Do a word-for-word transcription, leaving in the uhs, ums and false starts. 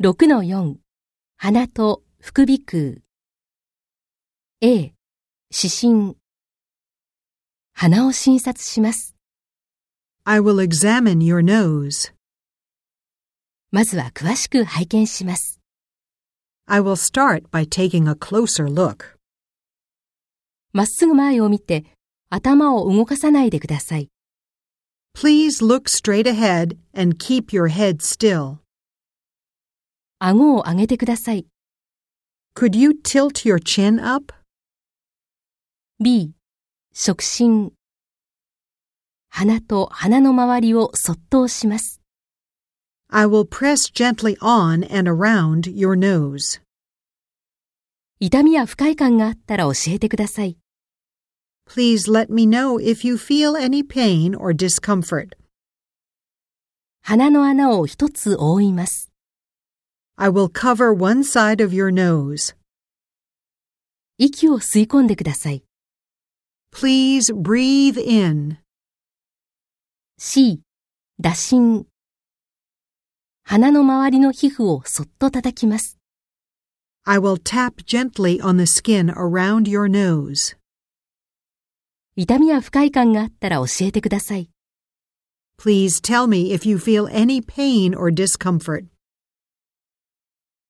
ろくのよん 鼻と副鼻腔 A 指針鼻を診察します。 I will examine your nose. まずは詳しく拝見します。 I will start by taking a closer look. まっすぐ前を見て頭を動かさないでください。 Please look straight ahead and keep your head still. 顎を上げてください。 Could you tilt your chin up? B 触診鼻と鼻の周りをそっと押します。 I will press gently on and around your nose. 痛みや不快感があったら教えてください。 Please let me know if you feel any pain or discomfort. 鼻の穴を一つ覆います。 I will cover one side of your nose. 息を吸い込んでください。 Please breathe in. C 打診鼻の周りの皮膚をそっと叩きます。 I will tap gently on the skin around your nose. 痛みや不快感があったら教えてください。 Please tell me if you feel any pain or discomfort.